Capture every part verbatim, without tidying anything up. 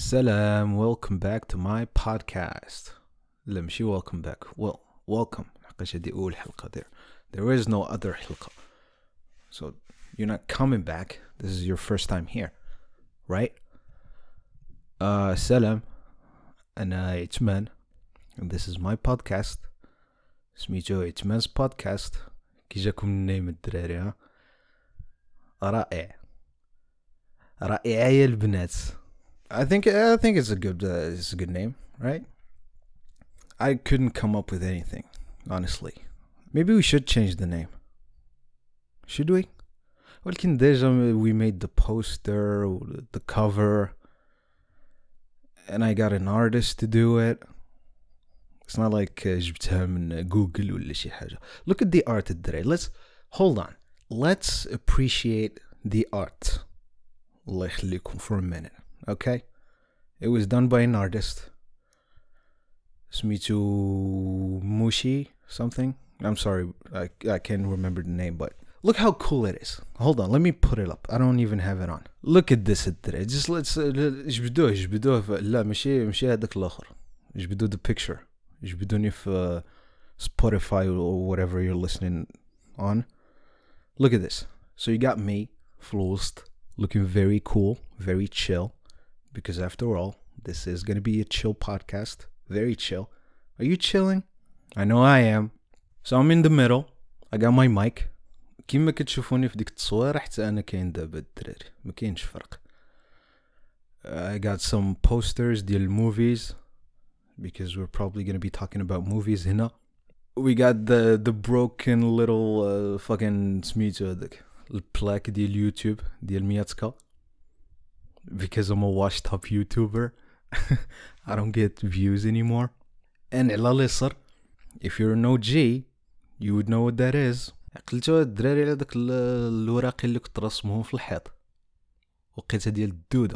Salam, welcome back to my podcast. لا ماشي welcome back. Well, welcome. حقاش هادي أول حلقة there. There is no other حلقة. So you're not coming back. This is your first time here, right? Uh, salam. أنا عثمان. And this is my podcast. سميتو عثمان's podcast. كي جاكم النيم الدراري ها؟ رائع. رائعة يا البنات. I think I think it's a good uh, it's a good name, right? I couldn't come up with anything, honestly. Maybe we should change the name. Should we? Well, can we made the poster, the cover, and I got an artist to do it. It's not like جبتها من Google ولا شي حاجة. Look at the art today. Let's hold on. Let's appreciate the art. الله يخليكم for a minute. Okay, it was done by an artist. Smitu Mushi something. I'm sorry, I I can't remember the name, but look how cool it is. Hold on, let me put it up. I don't even have it on. Look at this. Just let's جبدوه جبدوه لا ماشي ماشي هذاك الآخر. جبدو the picture. جبدوني في Spotify or whatever you're listening on. Look at this. So you got me, Flost, looking very cool, very chill. Because after all, this is going to be a chill podcast. Very chill. Are you chilling? I know I am. So I'm in the middle. I got my mic. كيما كتشوفوني في ديك التصوير حتى أنا كاين دابا الدراري. ما كاينش فرق. I got some posters ديال movies. Because we're probably going to be talking about movies هنا. We got the the broken little uh, fucking سميتو هذاك البلاك ديال يوتيوب ديال مياتكا. Because I'm a washed up YouTuber. I don't get views anymore. And على اليسار, if you're an O G, you would know what that is. قلتو الدراري على داك الوراقي اللي كنت رسمهم في الحيط وقيتها ديال الدودة.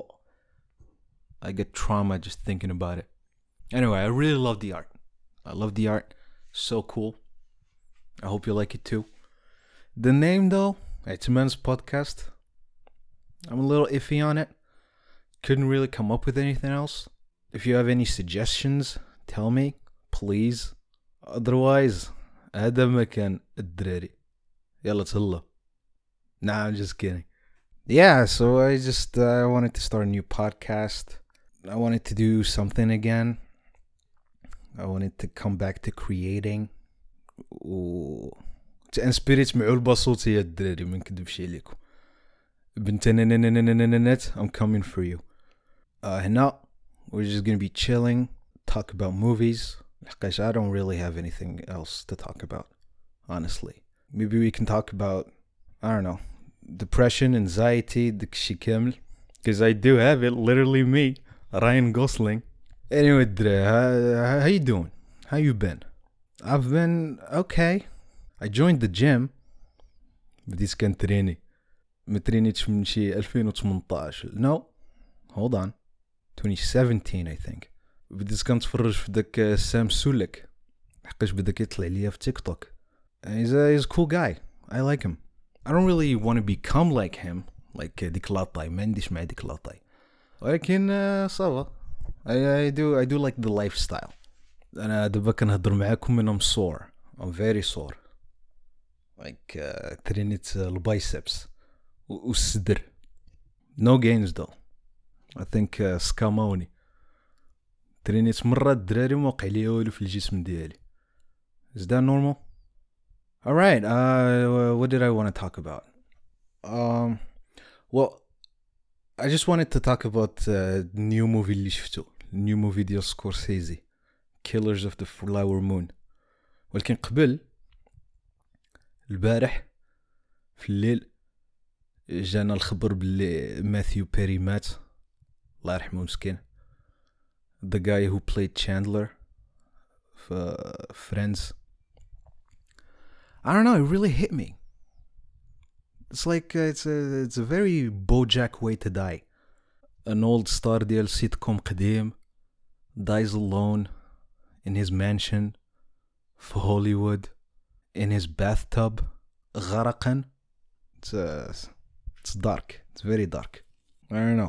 I get trauma just thinking about it. Anyway, I really love the art. I love the art. So cool. I hope you like it too. The name though, Atman's podcast. I'm a little iffy on it. Couldn't really come up with anything else. If you have any suggestions, tell me, please. Otherwise, هذا مكان الدراري. يلا تهلا. Nah, I'm just kidding. Yeah, so I just uh, wanted to start a new podcast. I wanted to do something again. I wanted to come back to creating. و تانسبيريت مع البصوت يا الدراري ما نكذبش عليكم. I'm coming for you. Uh, هنا we're just gonna be chilling, talk about movies. I don't really have anything else to talk about, honestly. Maybe we can talk about, I don't know, depression, anxiety, داكشي كامل. Because I do have it, literally me, Ryan Gosling. Anyway, Dre, how, how you doing? How you been? I've been okay. I joined the gym. بديت كنتريني. ما ترينيتش من شي ألفين وثمنطاش. No, hold on. twenty seventeen I think. بديت كنتفرج في داك سام سولك حقاش بدا كيطلع ليا في تيك توك. He's a, he's a cool guy. I like him. I don't really want to become like him. Like ديك لاطاي ما عنديش مع ديك لاطاي. ولكن صافا. I, I do I do like the lifestyle. أنا دابا كنهضر معاكم and I'm sore. I'm very sore. Like uh, ترينيت البايسبس. والصدر. No gains though. I think uh, سكاموني. ترينيت مرة الدراري وما وقع لي والو في الجسم ديالي. Is that normal? Alright, uh, what did I want to talk about? Um, well, I just wanted to talk about uh, the new movie اللي شفتو. New movie ديال سكورسيزي. Killers of the Flower Moon. ولكن قبل البارح في الليل جانا الخبر باللي ماثيو بيري مات الله يرحمه مسكين. The guy who played Chandler for Friends. I don't know, it really hit me. It's like uh, it's a it's a very BoJack way to die. An old star ديال sitcom قديم dies alone in his mansion في Hollywood in his bathtub غرقا. It's uh, it's dark. It's very dark. I don't know.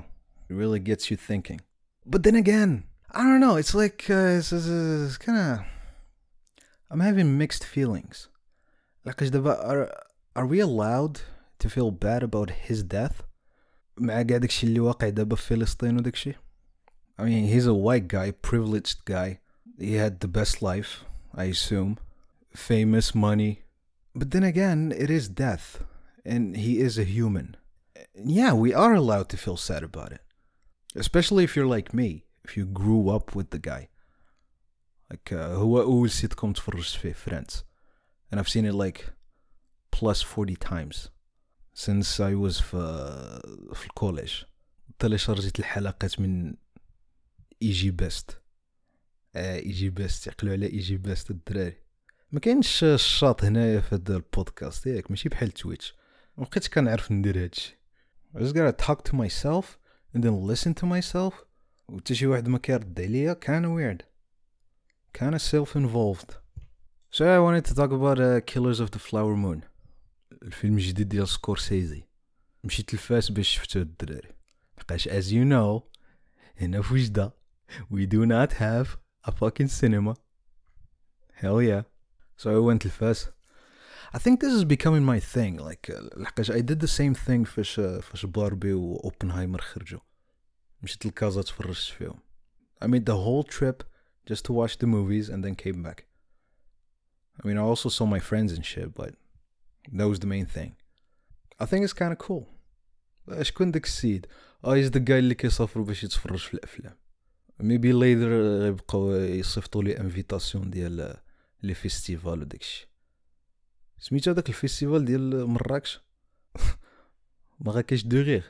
It really gets you thinking. But then again, I don't know. It's like uh, it's, it's, it's kind of. I'm having mixed feelings. Like, are are we allowed to feel bad about his death? مع قاعد داكشي اللي واقع دابا في فلسطين وداكشي. I mean, he's a white guy, privileged guy. He had the best life, I assume. Famous, money. But then again, it is death. And he is a human. Yeah, we are allowed to feel sad about it. Especially if you're like me. If you grew up with the guy. Like, uh, هو أول sitcom تفرجت فيه, Friends. And I've seen it like plus forty times. Since I was في, في الكوليج. طلع شرجت الحلقات من ايجي بيست. اه ايجي بيست يقلوا على ايجي بيست الدراري. ما كاينش الشاط هنايا في هذا البودكاست ياك ماشي بحال تويتش. ما بقيتش كنعرف ندير هادشي. I just gotta talk to myself and then listen to myself. وتا شي واحد ما كيرد عليا kinda weird. Kinda self-involved. So I wanted to talk about uh, Killers of the Flower Moon. الفيلم الجديد ديال سكورسيزي. مشيت لفاس باش شفتو الدراري. لقاش as you know هنا في وجدة we do not have a fucking cinema. Hell yeah. So I went لفاس. I think this is becoming my thing. Like لقاش I did the same thing فاش فاش باربي و اوبنهايمر خرجوا. مشيت لكازا تفرجت فيهم. I made the whole trip just to watch the movies and then came back. I mean, I also saw my friends and shit, but that was the main thing. I think it's kind of cool. شكون داك السيد؟ اه is the guy اللي كيسافروا باش يتفرج في الافلام. Maybe later غيبقاو يصيفطوا لي انفيتاسيون ديال لي فيستيفال وداكشي. سميتو داك الفيستيفال ديال مراكش؟ مراكش دو غير.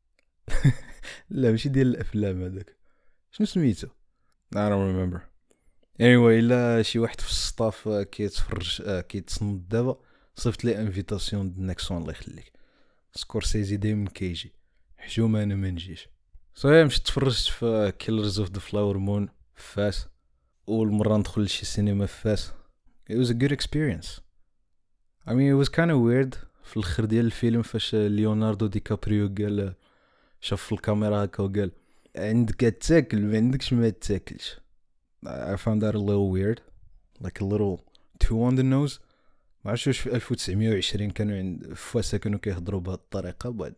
لا ماشي ديال الافلام هذاك. شنو سميتو؟ I don't remember. Anyway, إلا شي واحد في السطاف كيتفرج كيتصنت دابا صيفط لي انفيتاسيون د نيكسون الله يخليك. سكورسيزي دايما كيجي حشومه انا ما نجيش. صايي مشيت تفرجت في كيلرز اوف ذا فلاور مون في فاس. اول مره ندخل لشي سينما في فاس. It was a good experience. I mean, it was kind of weird في الاخر ديال الفيلم فاش ليوناردو دي كابريو قال شاف في الكاميرا هكا وقال عندك تاكل ما عندكش ما تاكلش. I found that a little weird, like a little too on the nose. ما عرفتش واش في ألف وتسعمية وعشرين كانوا عند فاسا كانوا كيهضروا بهذه الطريقه but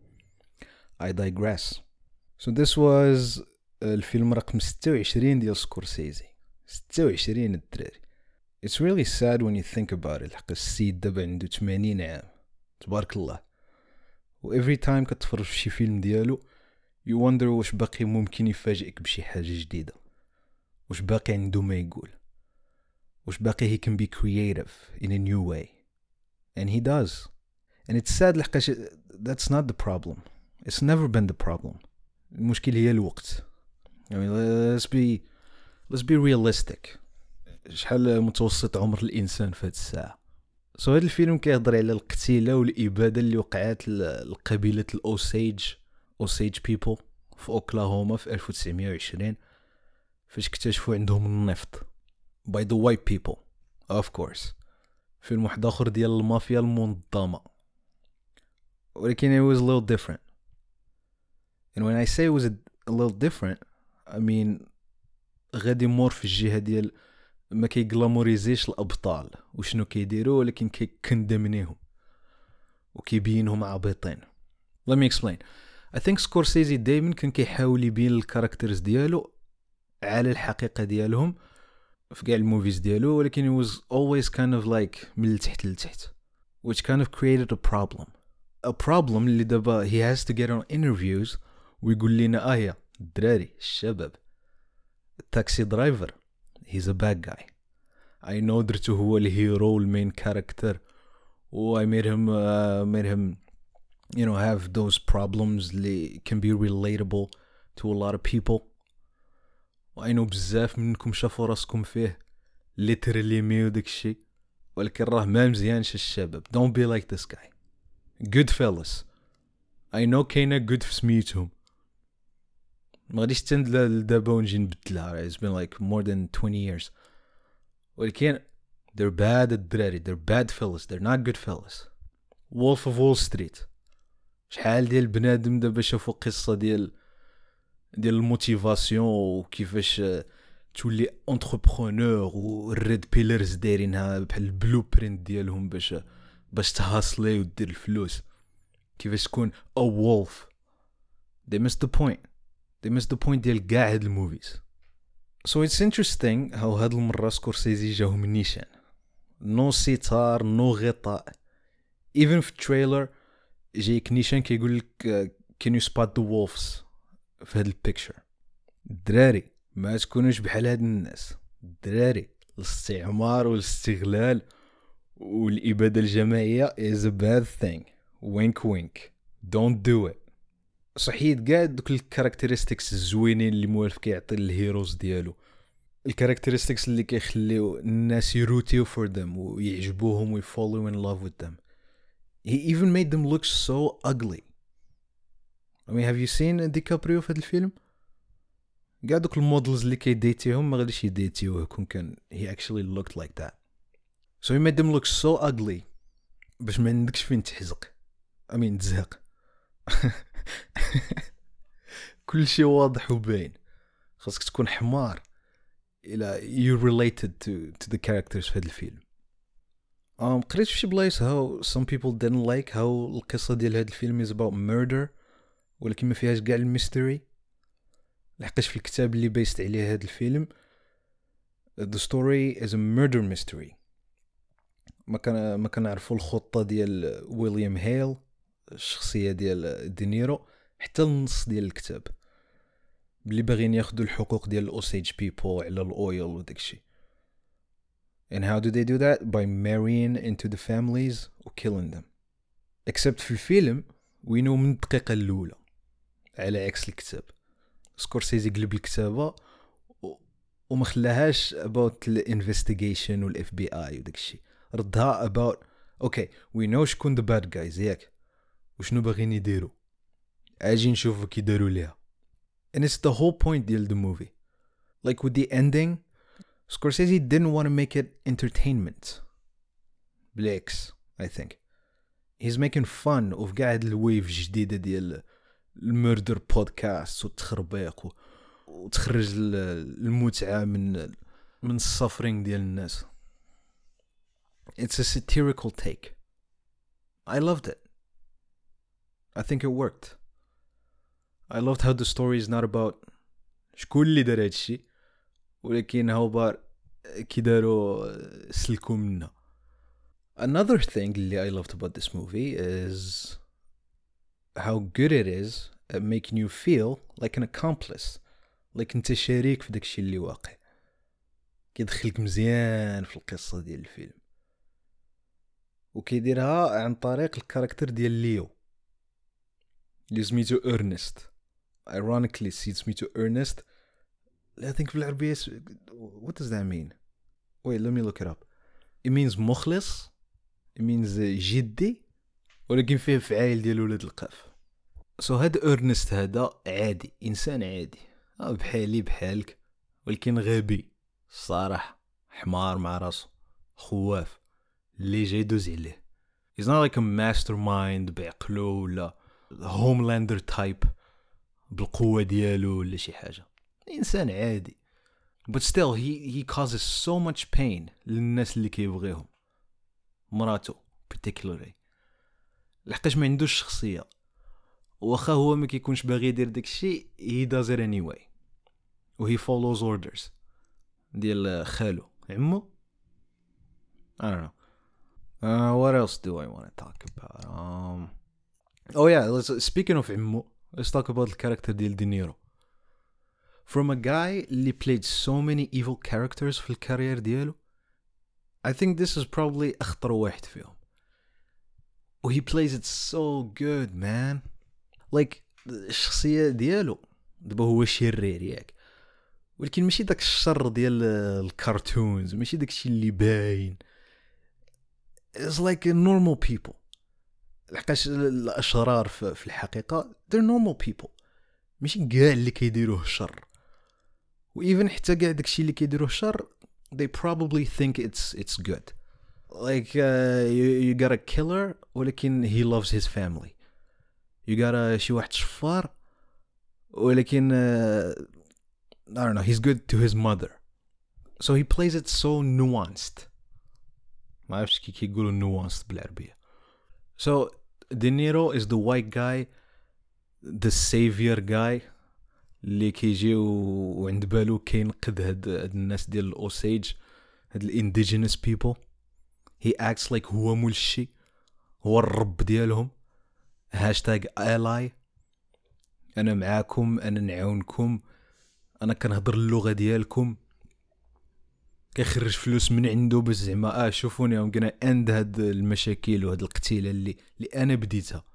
I digress. So this was الفيلم رقم ستة وعشرين ديال سكورسيزي. ستة وعشرين الدراري. It's really sad when you think about it. حق السيد دابا عنده ثمانين عام تبارك الله. و every time كتفرج في شي فيلم ديالو you wonder واش باقي ممكن يفاجئك بشي حاجه جديده. واش باقي عنده ما يقول. واش باقي he can be creative in a new way. And he does. And it's sad لحقاش that's not the problem. It's never been the problem. المشكل هي الوقت. I mean, let's be let's be realistic. شحال متوسط عمر الانسان في هذه الساعه. سو so هذا الفيلم كيهضر على القتيله والاباده اللي وقعت لقبيله الاوسيج اوسيج بيبل في اوكلاهوما في ألف وتسعمية وعشرين فاش اكتشفوا عندهم النفط by the white people of course. فيلم واحد اخر ديال المافيا المنظمه ولكن it was a little different. And when I say it was a, a little different I mean غادي مور في الجهه ديال ما كيغلاموريزيش الابطال وشنو كيديروا ولكن كيكندمنيهم وكيبينهم عبيطين. Let me explain. I think سكورسيزي دايما كان كيحاول يبين الكاركترز ديالو على الحقيقه ديالهم في كاع الموفيز ديالو ولكن it was always kind of like من التحت للتحت which kind of created a problem. A problem اللي دابا he has to get on interviews ويقول لنا اه يا الدراري الشباب التاكسي درايفر he's a bad guy. I know درتو هو الهيرو المين كاركتر و I made him uh, made him you know have those problems اللي can be relatable to a lot of people. و I know بزاف منكم شافوا راسكم فيه literally ميو داكشي ولكن راه ما مزيانش الشباب. Don't be like this guy. Goodfellas. I know كاينه good في سميتهم ما غاديش تند لدابا ونجي نبدلها. It's been like more than twenty years ولكن they're bad الدراري. They're bad fellas. They're not good fellas. Wolf of Wall Street. شحال ديال بنادم دابا شافوا قصة ديال ديال الموتيفاسيون وكيفاش تولي انتربرونور والريد بيلرز دايرينها بحال البلو برينت ديالهم باش باش تهاصلي ودير الفلوس كيفاش تكون a wolf. they missed the point they missed the point ديال كاع هاد الموفيز. so it's interesting how هاد المرة سكورسيزي جاهم نيشان نو سيتار نو غطاء. even في التريلر جايك نيشان كيقول لك can you spot the wolves في هاد البيكتشر. الدراري ما تكونوش بحال هاد الناس. الدراري الاستعمار والاستغلال والإبادة الجماعية is a bad thing. wink wink don't do it. صحيت قاعد دوك الكاركترستكس الزوينين اللي موالف كيعطي الهيروز ديالو الكاركترستكس اللي كيخليو الناس يروتيو for them ويعجبوهم ويفولو in love with them. he even made them look so ugly. I mean have you seen DiCaprio في هذا الفيلم؟ قاعد دوك المودلز اللي كيديتيهم ما غاديش يديتيوه كون كان he actually looked like that. so he made them look so ugly باش ما عندكش فين تحزق. I mean تزهق. كل شيء واضح وباين. خاصك تكون حمار إلى you related to to the characters في هذا الفيلم. um, قريت في شي بلايص how some people didn't like how القصة ديال هذا الفيلم is about murder ولكن ما فيهاش قاع الميستري. لحقاش في الكتاب اللي بيست عليه هذا الفيلم the story is a murder mystery. ما كان ما كنعرفوا الخطة ديال ويليام هيل الشخصية ديال دينيرو حتى النص ديال الكتاب بلي باغيين ياخدوا الحقوق ديال الاوسيج بيبل على الاويل وداكشي. and how do they do that by marrying into the families و killing them. except في الفيلم we know من الدقيقة الأولى على عكس الكتاب. سكورسيزي قلب الكتابة وما خلاهاش about the investigation وال إف بي آي وداكشي. ردها about okay we know شكون the bad guys ياك وشنو باغيين يديروا اجي نشوفوا كي داروا ليها. and it's the whole point ديال the movie. like with the ending Scorsese didn't want to make it entertainment. بالعكس I think he's making fun of قاعد الويف جديدة ديال المردر بودكاست والتخربيق وتخرج المتعة من من السفرينج ديال الناس. it's a satirical take. I loved it. I think it worked. I loved how the story is not about شكون اللي دار هادشي ولكن هاو بار كي داروا سلكوا منا. Another thing اللي I loved about this movie is how good it is at making you feel like an accomplice. like انت شريك في داكشي اللي واقع. كيدخلك مزيان في القصة ديال الفيلم وكيديرها عن طريق الكاركتر ديال ليو اللي سميتو Ernest. ironically سميتو Ernest. I think بالعربية what does that mean? wait let me look it up. it means مخلص. it means جدي ولكن فيه فعايل ديال ولاد القاف. so هاد Ernest هذا عادي انسان عادي بحالي بحالك ولكن غبي الصراحة حمار مع راسو خواف اللي جاي يدوز عليه. he's not like a mastermind بعقلو ولا homelander type بالقوة ديالو ولا شي حاجة. إنسان عادي but still he he causes so much pain للناس اللي كيبغيهم مراتو particularly لحقاش ما عندوش شخصية واخا هو ما كيكونش باغي يدير داكشي he does it anyway و he follows orders ديال خالو عمو. I don't know. Uh, what else do I want to talk about? Um, oh yeah, let's, speaking of عمو, let's talk about the character ديال دينيرو. From a guy اللي played so many evil characters في الكارير ديالو, I think this is probably أخطر واحد فيهم. و he plays it so good, man. Like, الشخصية ديالو دابا هو شرير ياك, ولكن ماشي داك الشر ديال الكارتونز, ماشي داك الشيء اللي باين. It's like normal people. لحقاش الأشرار في الحقيقة they're normal people, ماشي كاع اللي كيديروه الشر. و even حتى كاع داكشي اللي كيديروه الشر they probably think it's it's good. Like uh, you, you got a killer ولكن he loves his family. You got a شي واحد شفار ولكن uh, I don't know, he's good to his mother. So he plays it so nuanced. ما عرفتش كي كيقولوا nuanced بالعربية. So De Niro is the white guy, the savior guy اللي كيجي وعند بالو كينقذ هاد الناس ديال الأوسيج, هاد indigenous people. He acts like هو مول الشي, هو الرب ديالهم. هاشتاج ally, أنا معاكم, أنا نعاونكم, أنا كنهضر اللغة ديالكم. كيخرج فلوس من عنده باش زعما اه شوفوني I'm gonna end هاد المشاكل وهاد القتيلة اللي اللي أنا بديتها.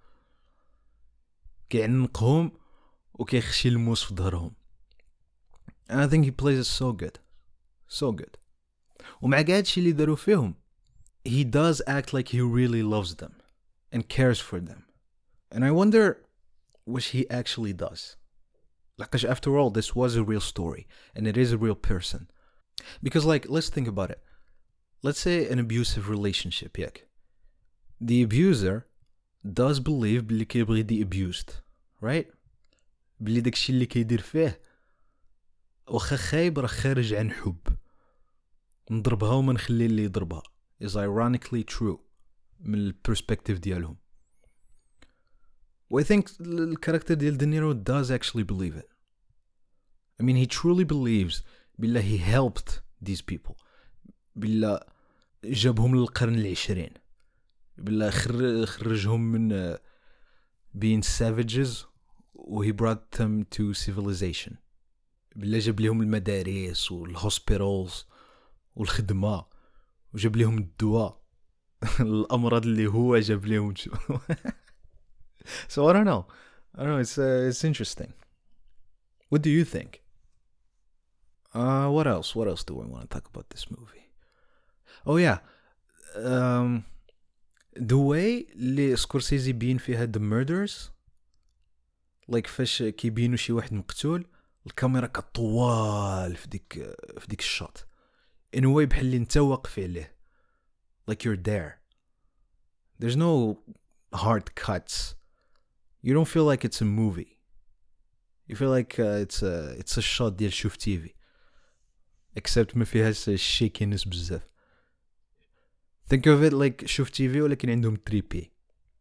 كيعنقهم وكيخشي الموس في ظهرهم. And I think he plays it so good. So good. ومع قاعد شي اللي داروا فيهم, he does act like he really loves them and cares for them. And I wonder what he actually does. Like, after all, this was a real story and it is a real person. Because, like, let's think about it. Let's say an abusive relationship, yeah. The abuser does believe بلي كيبغي the abused, right? بلي داكشي اللي كيدير فيه واخا خايب راه خارج عن حب. نضربها وما نخلي اللي يضربها is ironically true من البرسبكتيف ديالهم. و I think الكاركتر ديال دينيرو does actually believe it. I mean, he truly believes بالله he helped these people, بالله جابهم للقرن العشرين, بالله خرجهم من uh, being savages و he brought them to civilization, بالله جاب لهم المدارس والهوسبيتالز والخدمة وجاب لهم الدواء الأمراض اللي هو جاب لهم. So I don't know. I don't know. It's uh, it's interesting. What do you think? Uh, what else? What else do I want to talk about this movie? Oh yeah, um, the way اللي سكورسيزي بين فيها the murders, like فاش كيبينوا شي واحد مقتول, الكاميرا كطوال في ديك في ديك الشوت in a way بحال اللي انت واقف عليه, like you're there. There's no hard cuts. You don't feel like it's a movie. You feel like uh, it's a it's a shot ديال شوف تي في, except ما فيهاش shakiness بزاف. Think of it like شوف تي في ولكن عندهم three P.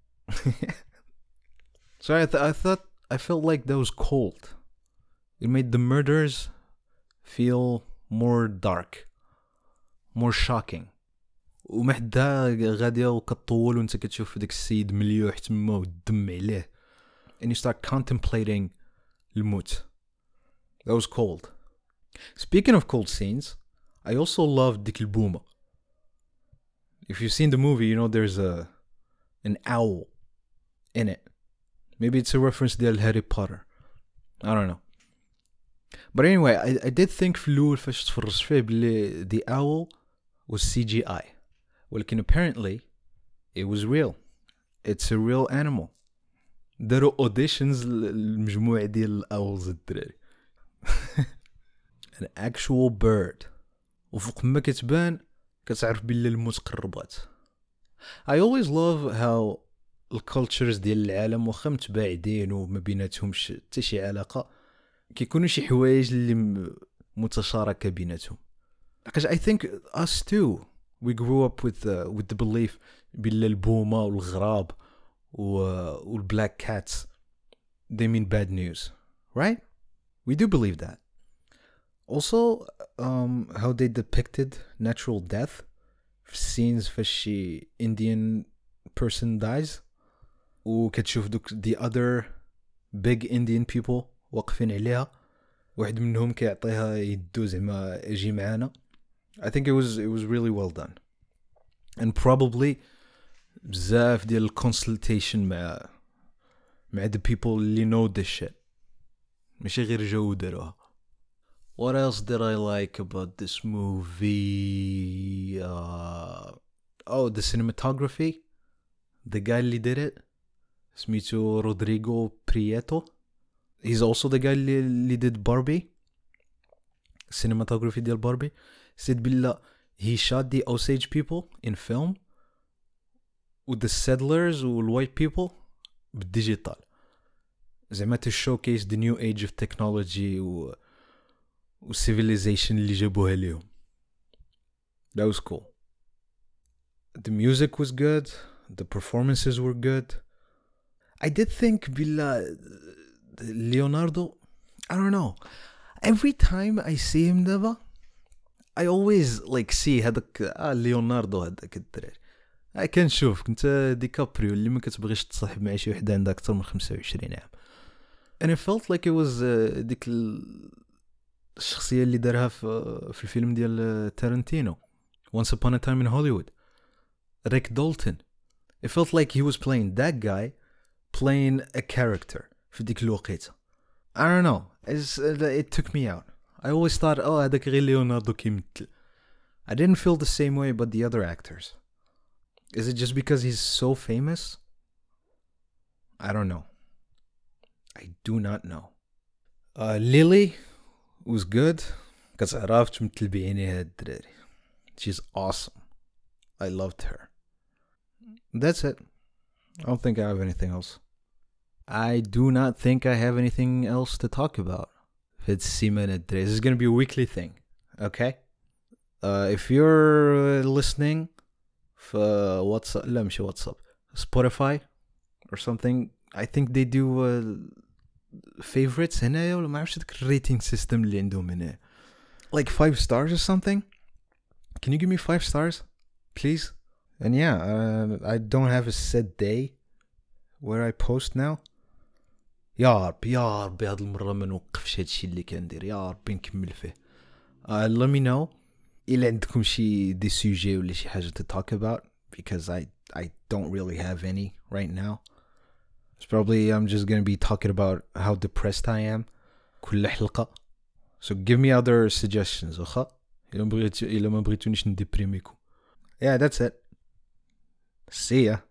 So I, th- I thought I felt like that was cold. It made the murders feel more dark, more shocking. ومحدا غادية وكطول وانت كتشوف داك السيد مليوح تما والدم عليه, and you start contemplating الموت. That was cold. Speaking of cold scenes, I also loved ديك البومة. If you've seen the movie, you know there's a an owl in it. Maybe it's a reference to Harry Potter. I don't know. But anyway, I, I did think في الأول فاش تفرجت فيه بلي the owl was C G I. ولكن apparently it was real. It's a real animal. داروا auditions للمجموعة ديال الأولز الدراري. An actual bird. وفوق ما كتبان كتعرف بلي الموت قربات. I always love how الكالتشرز ديال العالم واخا متباعدين وما بيناتهمش حتى شي علاقة, كيكونوا شي حوايج اللي متشاركة بيناتهم. Because I think us too, we grew up with uh, with the belief بلي البومة والغراب والblack cats, they mean bad news, right? We do believe that. Also, um, how they depicted natural death, scenes فاش شي Indian person dies, وكتشوف دوك the other big Indian people واقفين عليها, واحد منهم كيعطيها يدو زعما اجي معانا. I think it was it was really well done. And probably بزاف ديال consultation مع مع the people اللي know this shit, ماشي غير جاو داروها. What else did I like about this movie? Uh, oh, the cinematography. The guy اللي did it, سميتو Rodrigo Prieto. He's also the guy اللي did Barbie. Cinematography ديال Barbie. Said بالله he shot the Osage people in film with the settlers و white people بالديجيتال. زعما to showcase the new age of technology و و civilization اللي جابوها ليهم. That was cool. The music was good. The performances were good. I did think بلا Leonardo, I don't know. Every time I see him دابا I always like see هذاك آه ليوناردو هذاك الدراري. I كان شوف كنت ديكابريو اللي ما كتبغيش تصاحب مع شي وحده عندها اكثر من خمسة وعشرين عام. And it felt like it was uh, ديك الشخصيه اللي دارها في في الفيلم ديال تارنتينو Once Upon a Time in Hollywood. Rick Dalton. It felt like he was playing that guy playing a character في ديك الوقيته. I don't know. It's, uh, it took me out. I always thought, oh, هذاك غير ليوناردو كيمثل. I didn't feel the same way about the other actors. Is it just because he's so famous? I don't know. I do not know. Uh, Lily was good. Because عرفت تمثل بعينيها الدراري. She's awesome. I loved her. That's it. I don't think I have anything else. I do not think I have anything else to talk about. It's Simon This is going to be a weekly thing. Okay? Uh, if you're listening for WhatsApp, لا مش WhatsApp, Spotify or something, I think they do uh, favorites هنايا ولا ما عرفتش داك الريتينغ سيستم اللي عندهم هنا. Like five stars or something? Can you give me five stars? Please? And yeah, uh, I don't have a set day where I post now. يا ربي يا ربي هاد المرة ما نوقفش هادشي اللي كندير يا ربي نكمل فيه. uh, let me know إلا عندكم شي دي سوجي ولا شي حاجة to talk about because I I don't really have any right now. It's probably I'm just gonna be talking about how depressed I am كل حلقة. So give me other suggestions واخا إلا بغيت إلا ما بغيتونيش نديبريميكم. Yeah, that's it. See ya.